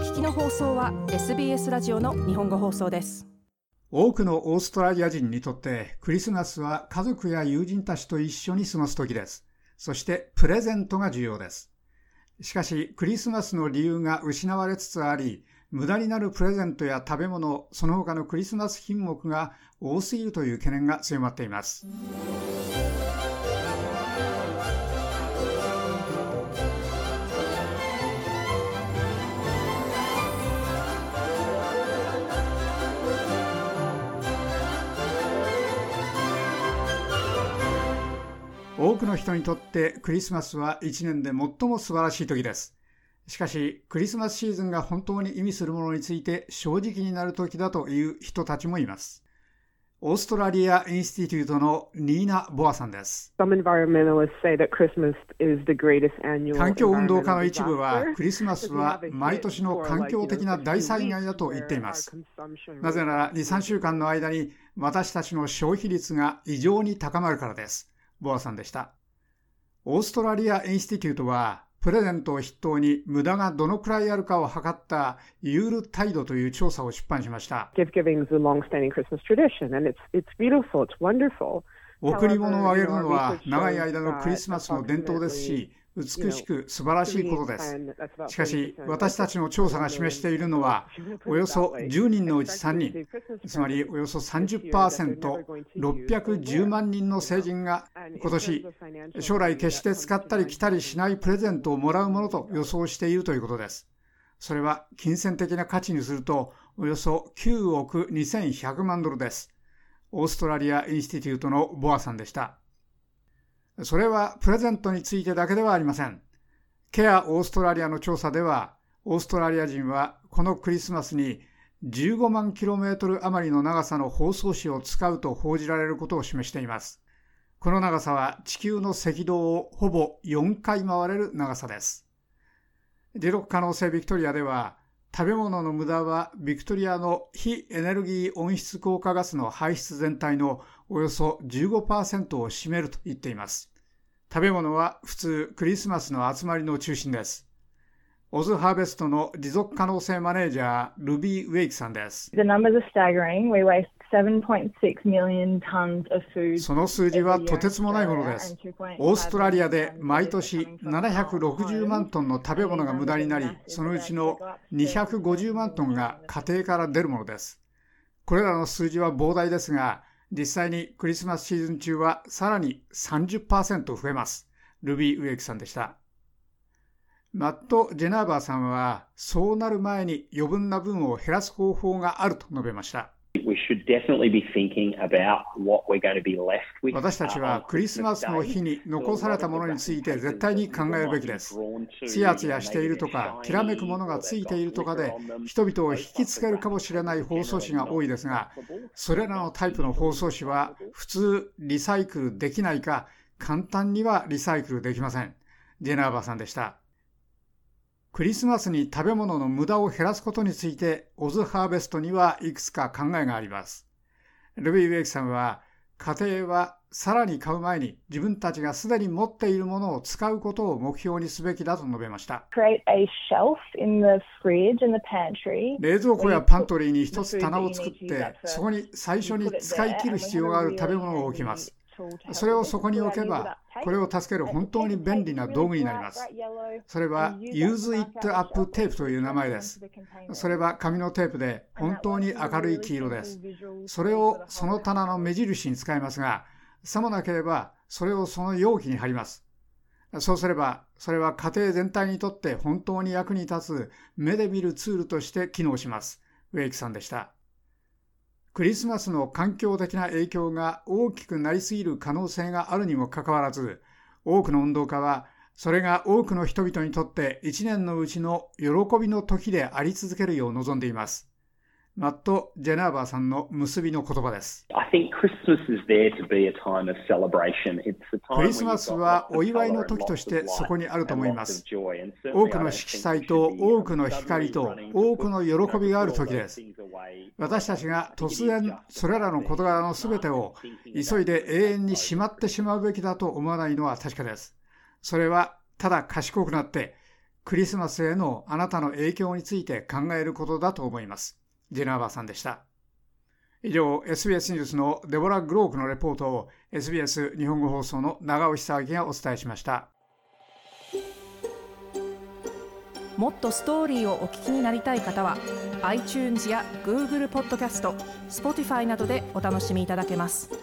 聞きの放送は SBS ラジオの日本語放送です。 多くのオーストラリア人にとってクリスマスは家族や友人たちと一緒に過ごす時です。そしてプレゼントが重要です。しかしクリスマスの理由が失われつつあり、無駄になるプレゼントや食べ物、その他のクリスマス品目が多すぎるという懸念が強まっています。多くの人にとってクリスマスは1年で最も素晴らしい時です。しかし、クリスマスシーズンが本当に意味するものについて正直になる時だという人たちもいます。オーストラリア・インスティテュートのニーナ・ボアさんです。環境運動家の一部は、クリスマスは毎年の環境的な大災害だと言っています。なぜなら、2、3週間の間に私たちの消費率が異常に高まるからです。ボアさんでした。オーストラリア・インスティテュートは、プレゼントを筆頭に無駄がどのくらいあるかを測ったユールタイドという調査を出版しました。贈り物をあげるのは長い間のクリスマスの伝統ですし、美しく素晴らしいことです。しかし、私たちの調査が示しているのは、およそ10人のうち3人、つまりおよそ 30%、610万人の成人が今年、将来決して使ったり着たりしないプレゼントをもらうものと予想しているということです。それは金銭的な価値にすると、およそ9億2100万ドルです。オーストラリア・インスティテュートのボアさんでした。それはプレゼントについてだけではありません。ケアオーストラリアの調査では、オーストラリア人はこのクリスマスに15万キロメートル余りの長さの包装紙を使うと報じられることを示しています。この長さは地球の赤道をほぼ4回回れる長さです。持続可能性ビクトリアでは、食べ物の無駄はビクトリアの非エネルギー温室効果ガスの排出全体のおよそ 15% を占めると言っています。食べ物は普通クリスマスの集まりの中心です。オズハーベストの持続可能性マネージャールビー・ウェイクさんです。その数字はとてつもないものです。オーストラリアで毎年760万トンの食べ物が無駄になり、そのうちの250万トンが家庭から出るものです。これらの数字は膨大ですが、実際にクリスマスシーズン中はさらに 30% 増えます。ルビー・ウェイクさんでした。マット・ジェナーバーさんは、そうなる前に余分な分を減らす方法があると述べました。私たちはクリスマスの日に残されたものについて絶対に考えるべきです。ツヤツヤしているとか、きらめくものがついているとかで、人々を引きつけるかもしれない包装紙が多いですが、それらのタイプの包装紙は普通リサイクルできないか、簡単にはリサイクルできません。ジェナーバーさんでした。クリスマスに食べ物の無駄を減らすことについて、オズハーベストにはいくつか考えがあります。ルビー・ウェイクさんは、家庭はさらに買う前に自分たちがすでに持っているものを使うことを目標にすべきだと述べました。冷蔵庫やパントリーに一つ棚を作って、そこに最初に使い切る必要がある食べ物を置きます。それをそこに置けば、これを助ける本当に便利な道具になります。それは Use It Up テープという名前です。それは紙のテープで本当に明るい黄色です。それをその棚の目印に使いますが、さもなければそれをその容器に貼ります。そうすれば、それは家庭全体にとって本当に役に立つ目で見るツールとして機能します。ウェイクさんでした。クリスマスの環境的な影響が大きくなりすぎる可能性があるにもかかわらず、多くの運動家は、それが多くの人々にとって一年のうちの喜びの時であり続けるよう望んでいます。マット・ジェナーバーさんの結びの言葉です。クリスマスはお祝いの時としてそこにあると思います。多くの色彩と多くの光と多くの喜びがある時です。私たちが突然それらの事柄のすべてを急いで永遠にしまってしまうべきだと思わないのは確かです。それはただ賢くなってクリスマスへのあなたの影響について考えることだと思います。ジェナーバーさんでした。以上、SBS ニュースのデボラ・グロークのレポートを SBS 日本語放送の長尾久明がお伝えしました。 もっとストーリーをお聞きになりたい方は iTunes や Google ポッドキャスト、Spotify などでお楽しみいただけます。